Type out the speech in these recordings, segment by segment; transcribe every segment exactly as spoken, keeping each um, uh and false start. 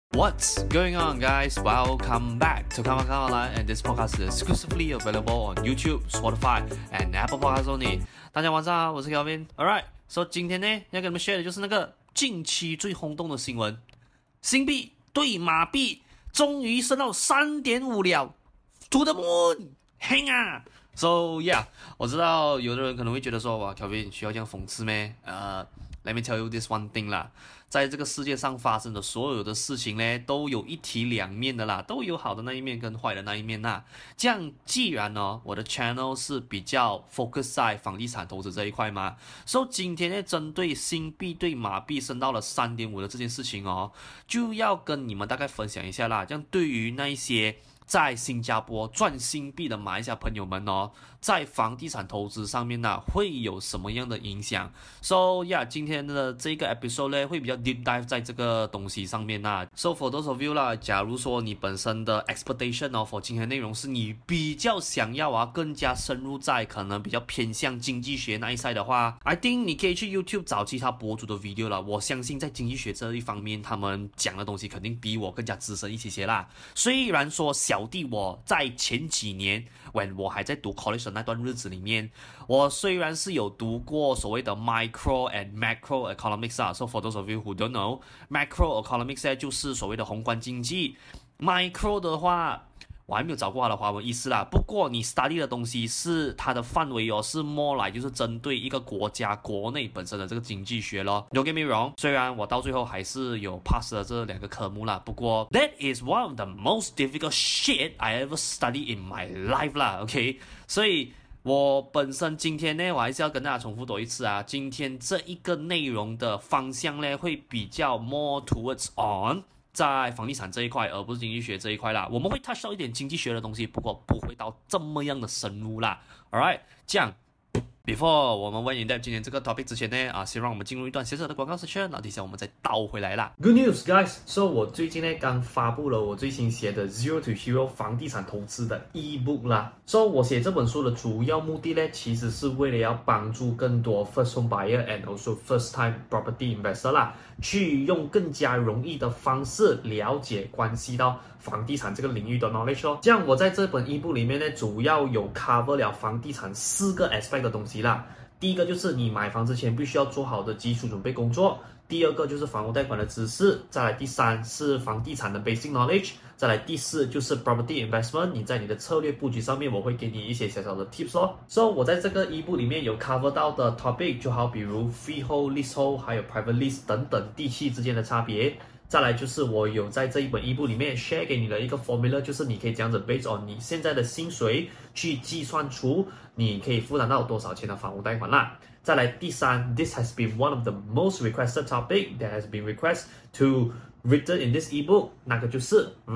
What's going on, guys? Welcome back to Come On Come Online, and this podcast is exclusively available on YouTube, Spotify, and Apple Podcasts only. 大家晚上好，我是 Kelvin. Alright, so 今天呢要跟你們 share 的就是那個近期最轟動的新聞，新幣對馬幣終於升到 三點五 了 ，To the moon， 嘿啊 ！So yeah， 我知道有的人可能會覺得說，哇 ，Kelvin 需要這樣諷刺咩？呃。Let me tell you this one thing 啦，在這個世界上發生的所有的事情呢，都有一體兩面的啦，都有好的那一面跟壞的那一面啦。這樣既然呢，我的 channel 是比較 focus 在房地產投資這一塊嘛，所以今天呢，針對新幣對馬幣升到了 三點五 的這件事情哦，就要跟你們大概分享一下啦。這樣對於那一些在新加坡賺新幣的馬來西亞朋友們哦，在房地產投資上面呢、啊，會有什麼樣的影響 ？So yeah， 今天的這個 episode 呢，會比較 deep dive 在這個東西上面啦。So for those of you 啦，假如說你本身的 expectation 哦 for 今天內容是你比較想要啊，更加深入在可能比較偏向經濟學那一 side 的話 ，I think 你可以去 YouTube 找其他博主的 video 啦。我相信在經濟學這一方面，他們講的東西肯定比我更加資深一些些啦。雖然說小弟我在前幾年 when 我還在讀 college 的那段日子裡面，我雖然是有讀過所謂的 micro and macro economics 啊 ，so for those of you who don't know， macro economics 呢就是所謂的宏觀經濟 ，micro 的話我還沒有找過它的華文意思啦。不過你 study 的東西是它的範圍哦，是 more like 就是針對一個國家國內本身的這個經濟學咯。Don't get me wrong， 雖然我到最後還是有 pass 了這兩個科目啦，不過 that is one of the most difficult shit I ever studied in my life 啦。OK， 所以我本身今天呢，我還是要跟大家重複多一次啊，今天這一個內容的方向呢，會比較 more towards on。在房地產這一塊，而不是經濟學這一塊啦。我們會 touch 到一點經濟學的東西，不過不會到這麼樣的深入啦。Alright， 這樣 ，before 我們 went in depth 今天這個 topic 之前呢，啊，先讓我們進入一段小小的廣告時間，然後等一下我們再倒回來啦。Good news, guys！ So 我最近呢剛發布了我最新寫的 Zero to Hero 房地產投資的 ebook 啦。So 我寫這本書的主要目的呢，其實是為了要幫助更多 first home buyer and also first time property investor 啦，去用更加容易的方式了解關係到房地產這個領域的 knowledge 咯。這樣我在這本 ebook 裡面呢，主要有 cover 了房地產四個 aspect 的東西啦。第一個就是你買房之前必須要做好的基礎準備工作，第二個就是房屋貸款的知識，再來第三是房地產的 basic knowledge， 再來第四就是 property investment， 你在你的策略布局上面我會給你一些小小的 tips 咯。所以我在這個 ebook 裡面有 cover 到的 topic 就好比如 freehold、leasehold 還有 private lease 等等地契之間的差別。再來就是我有在這一本 ebook 裡面 share 給你的一個 formula， 就是你可以這樣子 based on 你現在的薪水去計算出你可以負擔到多少錢的房屋貸款啦。再來第三 ，this has been one of the most requested topic that has been requested to written in this ebook， 那個就是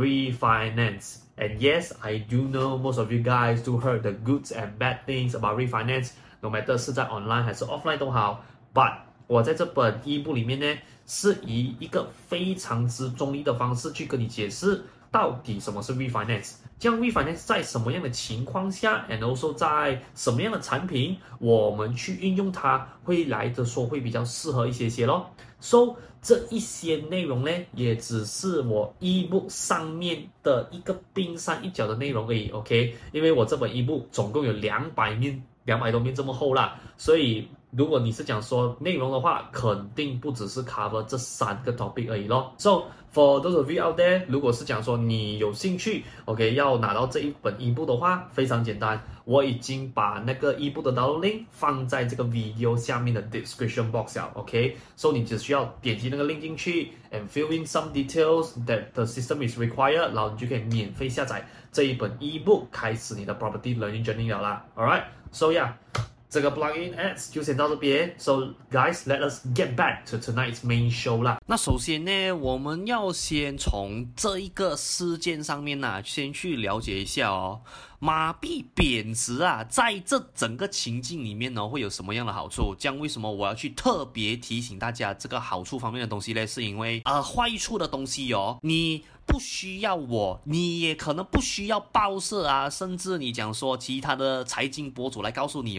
refinance。And yes, I do know most of you guys do heard the goods and bad things about refinance，no matter 是在 online 還是 offline 都好 ，but 我在這本 ebook 裡面呢，是以一個非常之中立的方式去跟你解釋到底什麼是 refinance， 這樣 refinance 在什麼樣的情況下 and also 在什麼樣的產品我們去運用它會來的說會比較適合一些些咯。So 這一些內容呢，也只是我 ebook 上面的一個冰山一角的內容而已 ，OK？ 因為我這本 ebook 總共有兩百面，兩百多面這麼厚啦，所以如果你是講說內容的話，肯定不只是 cover 這三個 topic 而已咯。So for those of you out there， 如果是講說你有興趣 ，OK， 要拿到這一本 ebook 的話，非常簡單，我已經把那個 ebook 的 download link 放在這個 video 下面的 description box 了 ，OK，So 你只需要點擊那個 link 進去 and fill in some details that the system is required， 然後你就可以免費下載這一本 ebook， 開始你的 property learning journey 了啦 ，Alright，So yeah。這個 plugin ads 就先到這邊 ，So guys, let us get back to tonight's main show 啦。那首先呢，我們要先從這一個事件上面呢，先去了解一下哦。馬幣貶值啊，在這整個情境裡面呢，會有什麼樣的好處？這樣為什麼我要去特別提醒大家這個好處方面的東西呢？是因為呃，壞處的東西哦，你不需要我，你也可能不需要報社啊，甚至你講說其他的財經博主來告訴你，我相信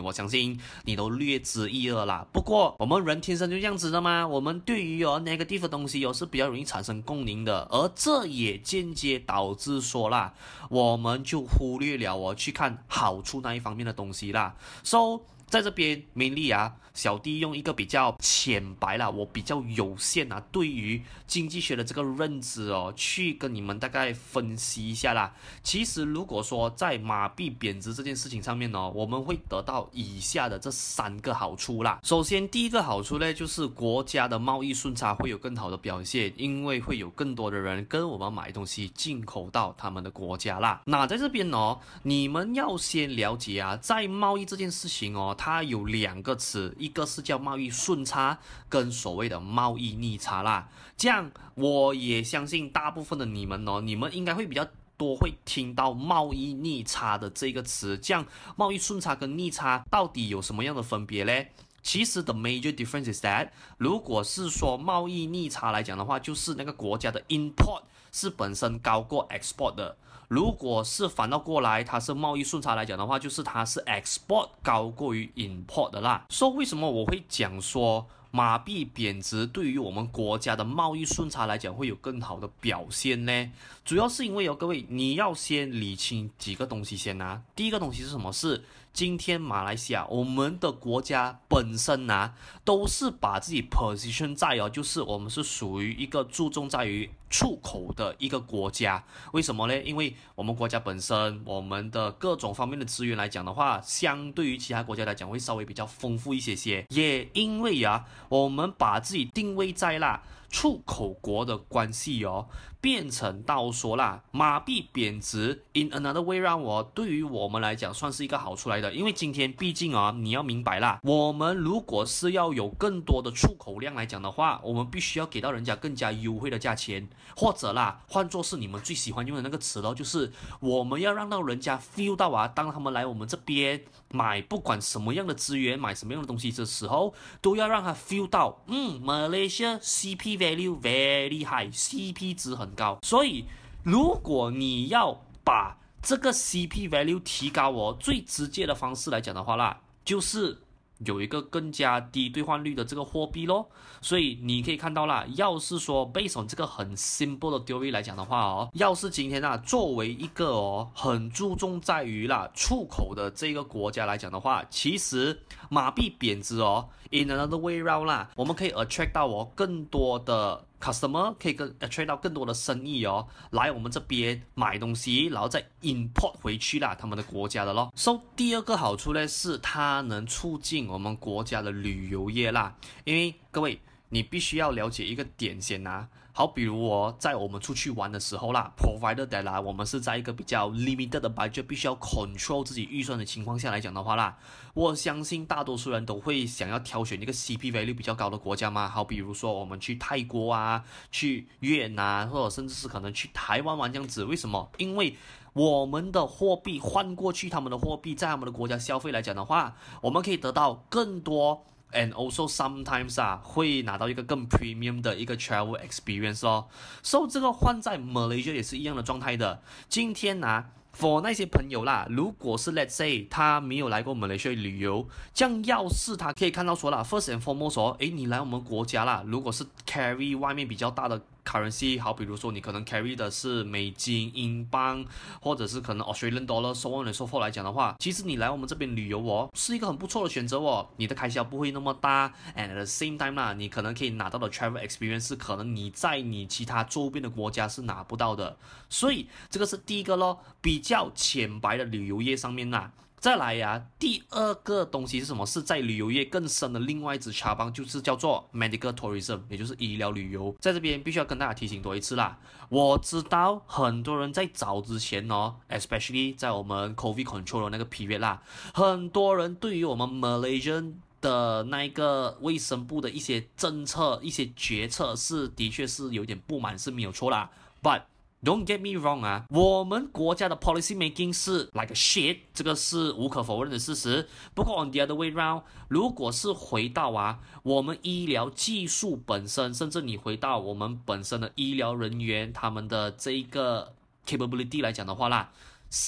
情你都略知一二啦。不過我們人天生就這樣子的嘛，我們對於有 negative 的東西有是比較容易產生共鳴的，而這也間接導致說啦，我們就忽略了我去看好處那一方面的東西啦。So 在這邊，mainly啊，小弟用一個比較淺白啦，我比較有限啊，對於經濟學的這個認知哦，去跟你們大概分析一下啦。其實如果說在馬幣貶值這件事情上面呢，我們會得到以下的這三個好處啦。首先，第一個好處呢，就是國家的貿易順差會有更好的表現，因為會有更多的人跟我們買東西進口到他們的國家啦。那在這邊呢，你們要先了解啊，在貿易這件事情哦，它有兩個詞，一個是叫貿易順差，跟所謂的貿易逆差啦。這樣我也相信大部分的你們哦，你們應該會比較多會聽到貿易逆差的這個詞。這樣貿易順差跟逆差到底有什麼樣的分別呢？其實 the major difference is that 如果是說貿易逆差來講的話，就是那個國家的 import 是本身高過 export 的。如果是反倒過來，它是貿易順差來講的話，就是它是 export 高過於 import 的啦。所以為什麼我會講說馬幣貶值對於我們國家的貿易順差來講會有更好的表現呢？主要是因為哦，各位你要先理清幾個東西先啊。第一個東西是什麼？是今天馬來西亞我們的國家本身啊，都是把自己 position 在哦，就是我們是屬於一個注重在於出口的一個國家。為什麼呢？因為我們國家本身我們的各種方面的資源來講的話，相對於其他國家來講會稍微比較豐富一些些。也因為啊，我們把自己定位在啦出口國的關係哦，變成到說啦，馬幣貶值 in another way round 哦，對於我們來講算是一個好處來的。因為今天畢竟啊，你要明白啦，我們如果是要有更多的出口量來講的話，我們必須要給到人家更加優惠的價錢，或者啦，換作是你們最喜歡用的那個詞咯，就是我們要讓到人家 feel 到啊，當他們來我們這邊買不管什麼樣的資源，買什麼樣的東西的時候，都要讓他 feel 到，嗯 Malaysia C P value very high，C P 值很高。所以如果你要把這個 C P value 提高哦，最直接的方式來講的話啦，就是有一個更加低兌換率的這個貨幣咯。所以你可以看到啦，要是說 based on 這個很 simple 的 theory 來講的話哦，要是今天啊作為一個哦很注重在於啦出口的這個國家來講的話，其實馬幣貶值哦 in another way round 啦，我們可以 attract 到哦更多的customer， 可以跟 attract 到更多的生意哦，來我們這邊買東西，然後再 import 回去啦，他們的國家的咯。So 第二個好處呢，是它能促進我們國家的旅遊業啦。因為各位，你必須要了解一個點先啊。好，比如哦，在我們出去玩的時候啦 ，provided that 啦，我們是在一個比較 limited 的 budget， 必須要 control 自己預算的情況下來講的話啦，我相信大多數人都會想要挑選一個 C P value 比較高的國家嘛。好，比如說我們去泰國啊，去越南，或者甚至是可能去台灣玩這樣子。為什麼？因為我們的貨幣換過去他們的貨幣，在他們的國家消費來講的話，我們可以得到更多。And also sometimes 啊，會拿到一個更 premium 的一個 travel experience 咯。So 這個換在 Malaysia 也是一樣的狀態的。今天啊 for 那些朋友啦，如果是 let's say 他沒有來過 Malaysia 旅遊，這樣要是他可以看到說啦 ，first and foremost 哦，誒，你來我們國家啦，如果是 carry 外面比較大的currency， 好，比如說你可能 carry 的是美金、英鎊，或者是可能 Australian dollar，so on and so forth 來講的話，其實你來我們這邊旅遊哦，是一個很不錯的選擇哦。你的開銷不會那麼大 ，and at the same time 啦，你可能可以拿到的 travel experience 是可能你在你其他周邊的國家是拿不到的。所以這個是第一個咯，比較淺白的旅遊業上面啦。再來呀、啊，第二個東西是什麼？是在旅遊業更深的另外一支插幫，就是叫做 medical tourism， 也就是醫療旅遊。在這邊必須要跟大家提醒多一次啦。我知道很多人在早之前哦 ，especially 在我們 COVID control 的那個 period 啦，很多人對於我們 Malaysian 的那個衛生部的一些政策、一些決策是的確是有點不滿，是沒有錯啦。But don't get me wrong 啊，我們國家的 policy making 是 like a shit， 這個是無可否認的事實。不過 on the other way round， 如果是回到啊我們醫療技術本身，甚至你回到我們本身的醫療人員他們的這一個 capability 來講的話啦，是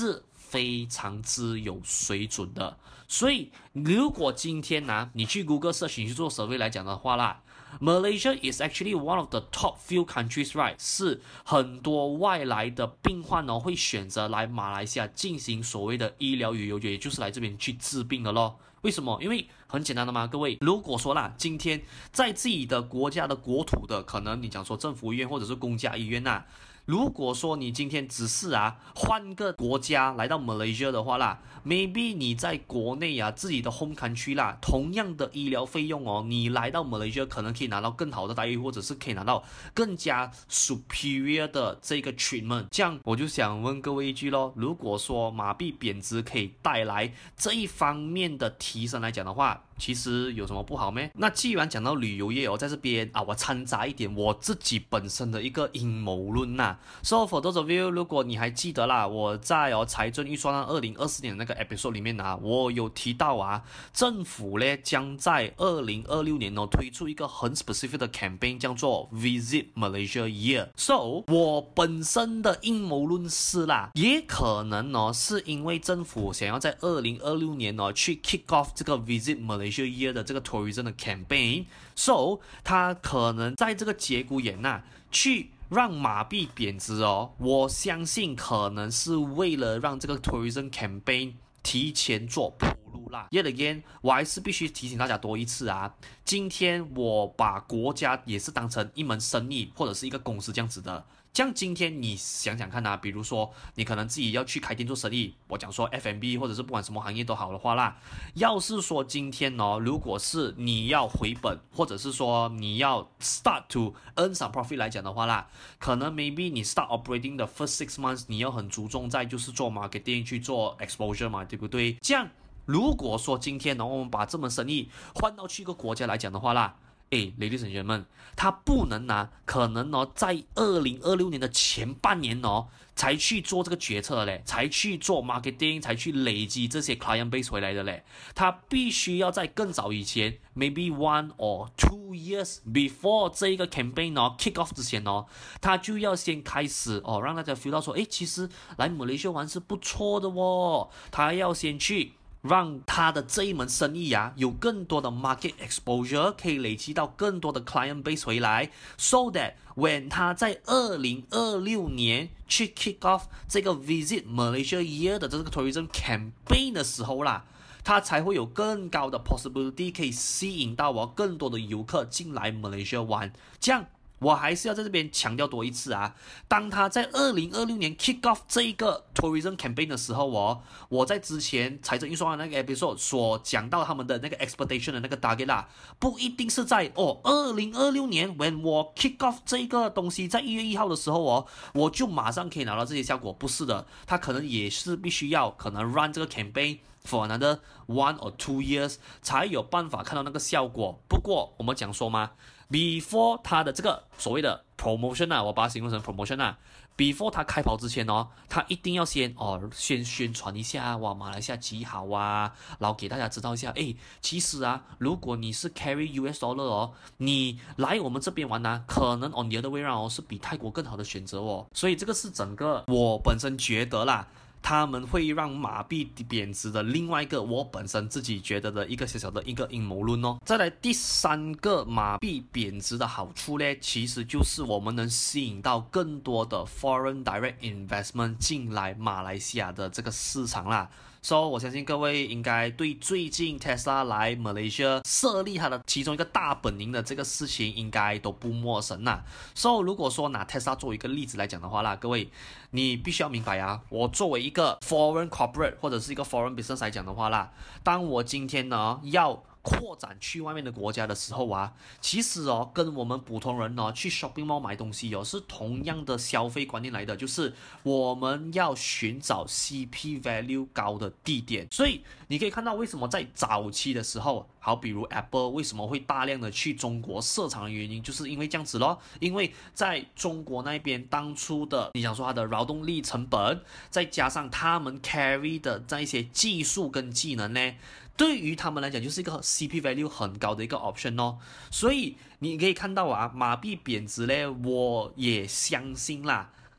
非常之有水準的。所以如果今天呢、啊，你去 Google search 你去做 survey 來講的話啦， Malaysia is actually one of the top few countries, right？ 是很多外來的病患呢會選擇來馬來西亞進行所謂的醫療旅遊，也就是來這邊去治病的咯。為什麼？因為很簡單的嘛，各位，如果說啦，今天在自己的國家的國土的，可能你講說政府醫院或者是公家醫院吶、啊，如果說你今天只是啊換個國家來到 Malaysia 的話啦 ，maybe 你在國內啊自己的 home country 啦，同樣的醫療費用哦，你來到 Malaysia 可能可以拿到更好的待遇，或者是可以拿到更加 superior 的這個 treatment。這樣我就想問各位一句咯，如果說馬幣貶值可以帶來這一方面的提升來講的話，其實有什麼不好咩？那既然講到旅遊業哦，在這邊啊，我摻雜一點我自己本身的一個陰謀論吶。So for those of you，如果你還記得啦，我在哦財政預算案二零二四年的那個 episode 裡面啊，我有提到啊，政府呢將在二零二六年哦推出一個很 specific 的 campaign，叫做 Visit Malaysia Year。So 我本身的陰謀論是啦，也可能哦是因為政府想要在二零二六年哦去 kick off 這個 Visit Malaysia Year 的這個 tourism 的 campaign，so 他可能在這個節骨眼吶、啊，去讓馬幣貶值哦。我相信可能是為了讓這個 tourism campaign 提前做鋪路啦。Yet again， 我還是必須提醒大家多一次啊，今天我把國家也是當成一門生意或者是一個公司這樣子的。像今天你想想看啊，比如說你可能自己要去開店做生意，我講說 F and B 或者是不管什麼行業都好的話啦，要是說今天哦，如果是你要回本，或者是說你要 start to earn some profit 來講的話啦，可能 maybe 你 start operating the first six months， 你要很注重在就是做 marketing 去做 exposure 嘛，對不對？這樣如果說今天呢，我們把這門生意換到去一個國家來講的話啦，誒 ，ladies and gentlemen，他不能拿，可能哦，在二零二六年的前半年哦，才去做這個決策嘞，才去做 marketing， 才去累積這些 client base 回來的嘞。他必須要在更早以前 ，maybe one or two years before 這一個 campaign 哦 kick off 之前哦，他就要先開始哦，讓大家 feel 到說，誒，其實來馬來西亞玩是不錯的哦。他要先去讓他的這一門生意啊，有更多的 market exposure， 可以累積到更多的 client base 回來 ，so that when 他在二零二六年去 kick off 這個 Visit Malaysia Year 的這個 tourism campaign 的時候啦，他才會有更高的 possibility 可以吸引到我更多的遊客進來 Malaysia 玩，這樣。我還是要在這邊強調多一次啊！當他在二零二六年 kick off 這一個 tourism campaign 的時候哦，我在之前財政預算案那個 episode 所講到他們的那個 expectation 的那個 target 啦，不一定是在哦二零二六年 when 我 kick off 這個東西在一月一號的時候哦，我就馬上可以拿到這些效果，不是的，他可能也是必須要可能 run 這個 campaign for another one or two years 才有辦法看到那個效果。不過我們講說嘛，before 他的這個所謂的 promotion 啊，我把它形容成 promotion 啊 ，before 他開跑之前哦，他一定要先哦先宣傳一下，哇，馬來西亞極好啊，然後給大家知道一下，誒，其實啊，如果你是 carry U S dollar 哦，你來我們這邊玩呢、啊，可能 on the other way round 哦是比泰國更好的選擇哦，所以這個是整個我本身覺得啦。他們會讓馬幣貶值的另外一個我本身自己覺得的一個小小的一個陰謀論哦。再來第三個馬幣貶值的好處呢，其實就是我們能吸引到更多的 foreign direct investment 進來馬來西亞的這個市場啦。So 我相信各位應該對最近 Tesla 來馬來西亞設立它的其中一個大本營的這個事情應該都不陌生啦。So 如果說拿 Tesla 作為一個例子來講的話啦，各位你必須要明白啊，我作為一個 foreign corporate 或者是一個 foreign business 來講的話啦，當我今天呢要擴展去外面的國家的時候啊，其實哦，跟我們普通人哦去 shopping mall 買東西哦是同樣的消費觀念來的，就是我們要尋找 C P value 高的地點。所以你可以看到為什麼在早期的時候，好比如 Apple 為什麼會大量的去中國設廠的原因，就是因為這樣子咯。因為在中國那邊當初的你想說它的勞動力成本，再加上他們 carry 的這一些技術跟技能呢，對於他們來講就是一個 C P value 很高的一個 option 哦，所以你可以看到啊，馬幣貶值呢，我也相信啦，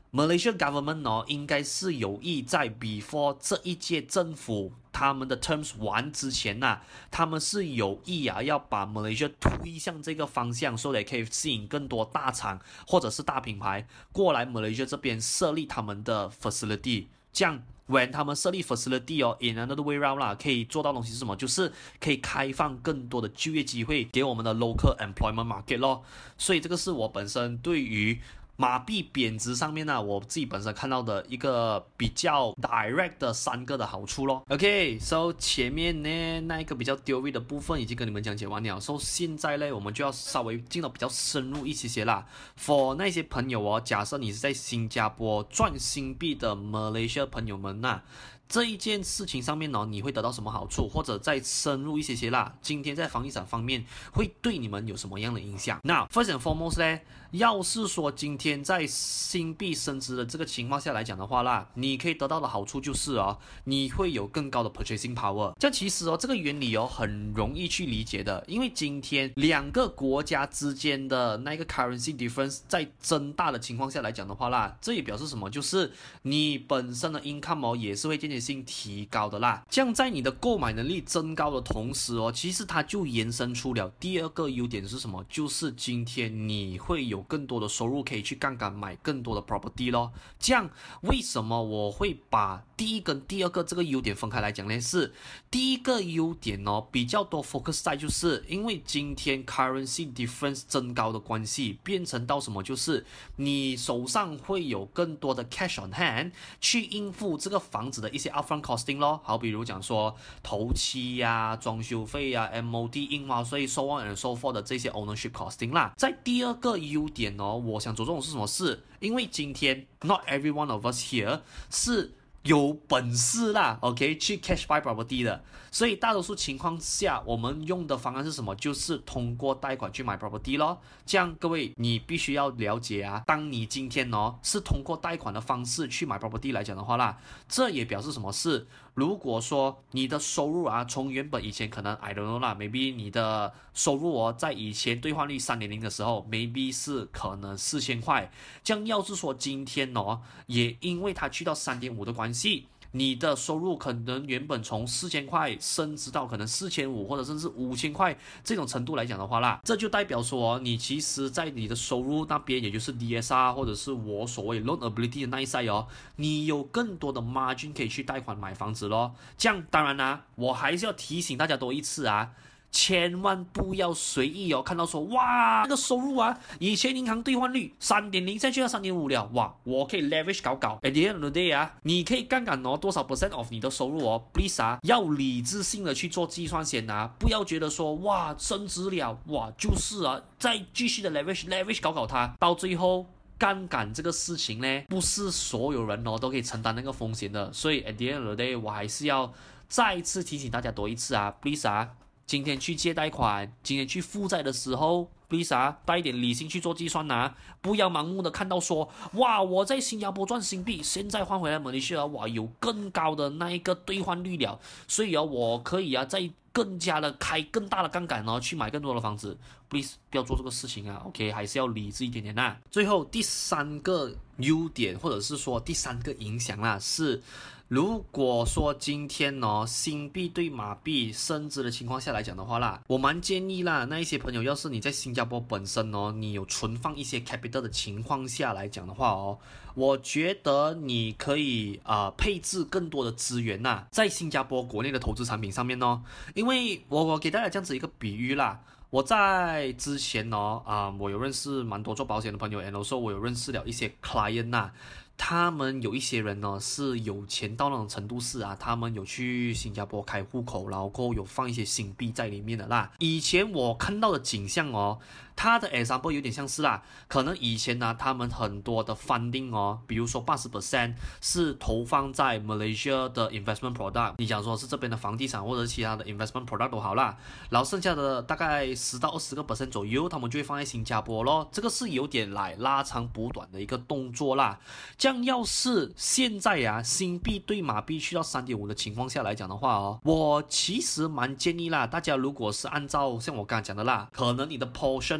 Malaysia government 哦，應該是有意在 before 這一屆政府他們的 terms 完之前吶、啊，他們是有意啊要把 Malaysia 推向這個方向，所以可以吸引更多大廠或者是大品牌過來 Malaysia 這邊設立他們的 facility， 這樣 when 他們設立 facility 哦 in another way round 啦，可以做到東西是什麼？就是可以開放更多的就業機會給我們的 local employment market 咯。所以這個是我本身對於馬幣貶值上面呢、啊，我自己本身看到的一個比較 direct 的三個的好處咯。OK，so、okay, 前面呢那一個比較 theory 的部分已經跟你們講解完了，所、so, 以現在呢我們就要稍微進到比較深入一些些啦。For 那些朋友哦，假設你是在新加坡賺新幣的 Malaysia 朋友們吶、啊。這一件事情上面呢，你會得到什麼好處？或者再深入一些些啦，今天在房地產方面會對你們有什麼樣的影響？那 first and foremost 呢，要是說今天在新幣升值的這個情況下來講的話啦，你可以得到的好處就是哦，你會有更高的 purchasing power。這樣其實哦，這個原理哦很容易去理解的，因為今天兩個國家之間的那個 currency difference 在增大的情況下來講的話啦，這也表示什麼？就是你本身的 income 哦也是會漸漸性提高的啦，這樣在你的購買能力增高的同時哦，其實它就延伸出了第二個優點是什麼？就是今天你會有更多的收入可以去槓桿買更多的 property 咯。這樣為什麼我會把第一跟第二個這個優點分開來講呢？是第一個優點哦，比較多 focus 在就是因為今天 currency difference 增高的關係，變成到什麼？就是你手上會有更多的 cash on hand 去應付這個房子的一些upfront costing 咯，好比如講說頭期呀、啊、裝修費呀、啊、M O D 印花稅、so on and so forth 的這些 ownership costing 啦。在第二個優點哦，我想着重的是什麼事？因為今天 not every one of us here 是有本事啦 ，OK， 去 cash buy property 的，所以大多數情況下，我們用的方案是什麼？就是通過貸款去買 property 咯。這樣各位，你必須要了解啊，當你今天哦是通過貸款的方式去買 property 來講的話啦，這也表示什麼事？如果說你的收入啊，從原本以前可能 I don't know 啦 ，maybe 你的收入哦，在以前兌換率三點零的時候 ，maybe 是可能四千塊，這樣要是說今天哦，也因為它去到三點五的關係。你的收入可能原本從四千塊升值到可能四千五或者甚至五千塊這種程度來講的話啦，這就代表說你其實在你的收入那邊，也就是 D S R 或者是我所謂 loan ability 的那一 side 哦，你有更多的 margin 可以去貸款買房子咯。這樣當然啦、啊，我還是要提醒大家多一次啊。千萬不要隨意哦，看到說哇，那個收入啊，以前銀行兌換率三點零，現在去到三點五了，哇，我可以 leverage 搞搞。At the end of the day 啊，你可以槓桿哦多少 percent of 你的收入哦 ，please 啊，要理智性的去做計算先啊，不要覺得說哇升值了，哇就是啊，再繼續的 leverage leverage 搞搞它，到最後槓桿這個事情呢，不是所有人哦都可以承擔那個風險的，所以 at the end of the day 我還是要再一次提醒大家多一次啊 ，please 啊。今天去借貸款，今天去負債的時候 ，please 啊，帶一點理性去做計算吶，不要盲目的看到說，哇，我在新加坡賺新幣，現在換回來馬來西亞，哇，有更高的那一個兌換率了，所以啊，我可以啊，再更加的開更大的槓桿哦，去買更多的房子 ，please 不要做這個事情啊 ，OK， 還是要理智一點點吶。最後第三個優點，或者是說第三個影響啦，是。如果說今天哦，新幣對馬幣升值的情況下來講的話啦，我蠻建議啦，那一些朋友，要是你在新加坡本身哦，你有存放一些 capital 的情況下來講的話哦，我覺得你可以呃配置更多的資源吶，在新加坡國內的投資產品上面哦，因為我我給大家這樣子一個比喻啦。我在之前哦，啊、呃，我有認識蠻多做保險的朋友，and also我有認識了一些 client 吶，他們有一些人呢是有錢到那種程度是啊，他們有去新加坡開戶口，然後有放一些新幣在裡面的啦。以前我看到的景象哦，他的 example 有點像是啦，可能以前呢、啊，他們很多的 funding 哦，比如說八十 percent 是投放在 Malaysia 的 investment product， 你講說是這邊的房地產或者是其他的 investment product 都好啦，然後剩下的大概十到二十個 percent 左右，他們就會放在新加坡咯。這個是有點來拉長補短的一個動作啦。這樣要是現在啊，新幣對馬幣去到三點五的情況下來講的話哦，我其實蠻建議啦，大家如果是按照像我剛才講的啦，可能你的 portion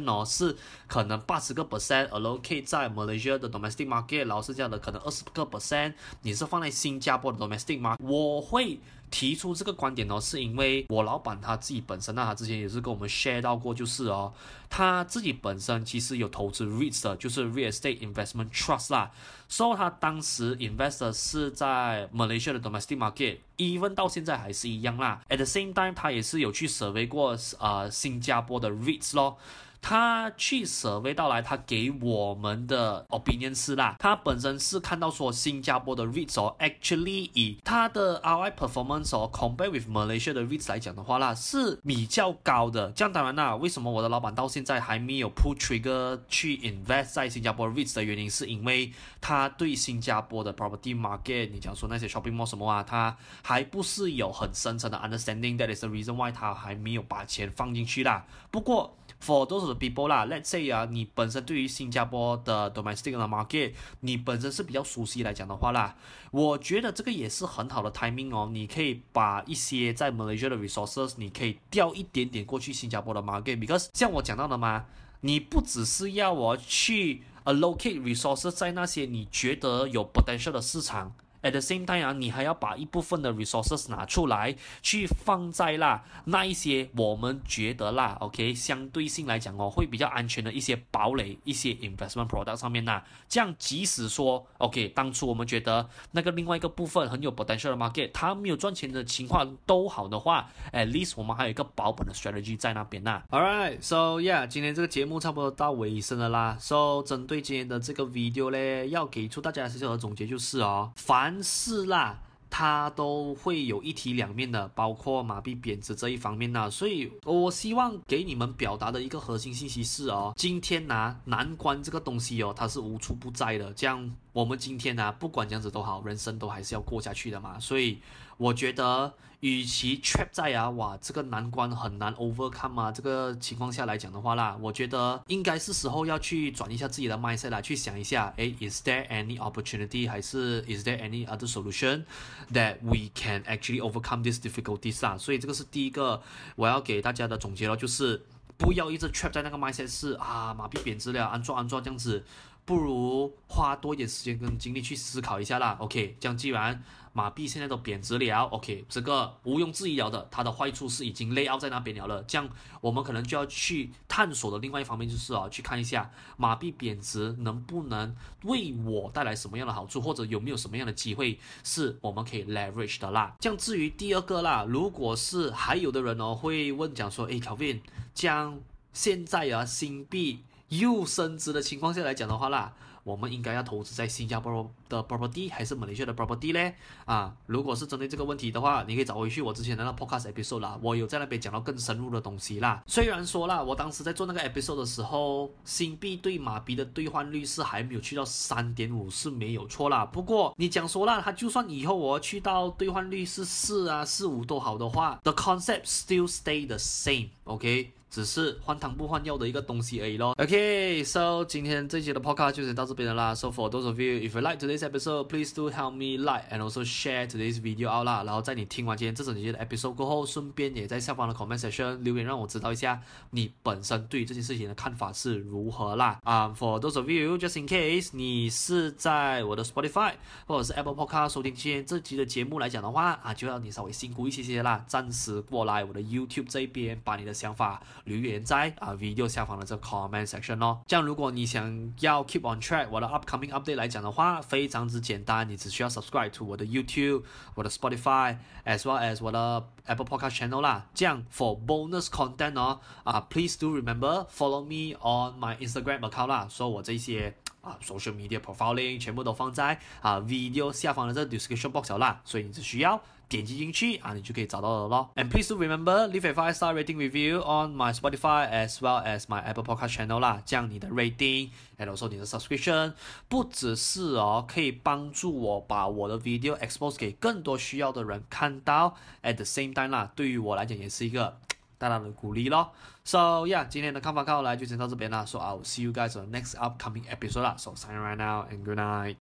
哦是可能八十個 percent allocate 在 Malaysia 的 domestic market， 然後是這樣的可能二十個 percent 你是放在新加坡的 domestic market。我會提出這個觀點哦，是因為我老闆他自己本身呢，他之前也是跟我們 share 到過，就是哦，他自己本身其實有投資 REITs 的，就是 Real Estate Investment Trust 啦，所以他當時 invest 的是在 Malaysia 的 domestic market，even 到現在還是一樣啦。At the same time， 他也是有去 survey 過呃新加坡的 REITs 咯。他去 survey 到來，他給我們的 opinion 是啦，他本身是看到說新加坡的 REITs 哦 ，actually 以他的 R I performance 哦 ，compare with Malaysia 的 REITs 來講的話啦，是比較高的。這樣當然啦，為什麼我的老闆到現在還沒有 pull trigger 去 invest 在新加坡 REITs 的原因，是因為他對新加坡的 property market， 你講說那些 shopping mall 什麼啊，他還不是有很深層的 understanding，that is the reason why 他還沒有把錢放進去啦。不過For those of the people 啦 ，let's say 啊，你本身對於新加坡的 domestic 的 market， 你本身是比較熟悉來講的話啦，我覺得這個也是很好的 timing 哦。你可以把一些在 Malaysia 的 resources， 你可以調一點點過去新加坡的 market，because 像我講到的嘛，你不只是要我去 allocate resources 在那些你覺得有 potential 的市場。At the same time 啊，你還要把一部分的 resources 拿出來，去放在啦那一些我們覺得啦 ，OK， 相對性來講哦，會比較安全的一些堡壘、一些 investment product 上面啦。這樣即使說 ，OK， 當初我們覺得那個另外一個部分很有 potential 的 market， 它沒有賺錢的情況都好的話 ，at least 我們還有一個保本的 strategy 在那邊啦。Alright, so yeah， 今天這個節目差不多到尾聲了啦。So 針對今天的這個 video 呢，要給出大家小小的總結就是哦，凡凡事啦，它都會有一體兩面的，包括馬幣貶值這一方面呢。所以我希望給你們表達的一個核心信息是哦，今天呢、啊，難關這個東西哦，它是無處不在的。這樣我們今天呢、啊，不管這樣子都好，人生都還是要過下去的嘛。所以我覺得，與其 trap 在啊，哇，這個難關很難 overcome 啊，這個情況下來講的話啦，我覺得應該是時候要去轉一下自己的 mindset 來去想一下，誒 ，is there any opportunity， 還是 is there any other solution that we can actually overcome these difficulties 啊？所以這個是第一個我要給大家的總結咯，就是不要一直 trap 在那個 mindset 是啊，馬幣貶值了，安坐安坐這樣子。不如花多一點時間跟精力去思考一下啦。OK， 這樣既然馬幣現在都貶值了 ，OK， 這個毋庸置疑了的，它的壞處是已經 lay out 在那邊了了。這樣我們可能就要去探索的另外一方面就是哦，去看一下馬幣貶值能不能為我帶來什麼樣的好處，或者有沒有什麼樣的機會是我們可以 leverage 的啦。這樣至於第二個啦，如果是還有的人哦會問講說，誒 Kelvin， 這樣現在啊新幣又升值的情況下來講的話啦，我們應該要投資在新加坡的 property 還是 Malaysia 的 property 呢？啊，如果是針對這個問題的話，你可以找回去我之前的那個 podcast episode 啦，我有在那邊講到更深入的東西啦。雖然說啦，我當時在做那個 episode 的時候，新幣對馬幣的兌換率是還沒有去到 三點五 是沒有錯啦。不過你講說啦，它就算以後我去到兌換率是四啊四五都好的話 ，the concept still stay the same，OK？、Okay?只是換湯不換藥的一個東西而已咯。Okay, so 今天這期的 podcast 就先到這邊了啦。So for those of you, if you like today's episode, please do help me like and also share today's video out 啦。然後在你聽完今天這整期的 episode 過後，順便也在下方的 comment section 留言，讓我知道一下你本身對這件事情的看法是如何啦。啊、um, ，for those of you, just in case 你是在我的 Spotify 或者是 Apple Podcast 收聽今天這集的節目來講的話啊，就要你稍微辛苦一些些啦，暫時過來我的 YouTube 這一邊，把你的想法留言在啊 video 下方的這個 comment section 咯。這樣如果你想要 keep on track 我的 upcoming update 來講的話，非常之簡單，你只需要 subscribe to 我的 YouTube、我的 Spotify as well as 我的 Apple Podcast channel 啦。這樣 for bonus content 哦啊 please do remember follow me on my Instagram account 啦。所以我這些啊 social media profiling 全部都放在啊 video 下方的這個 description box 啦，所以你只需要點擊進去啊，你就可以找到了咯。And please do remember leave a five star rating review on my Spotify as well as my Apple Podcast channel 啦。這樣你的 rating and also 你的 subscription 不只是哦可以幫助我把我的 video expose 給更多需要的人看到 ，at the same time 啦，對於我來講也是一個大大的鼓勵咯。So yeah， 今天的看法看下來就先到這邊啦。So I'll see you guys on the next upcoming episode 啦。So sign right now and good night。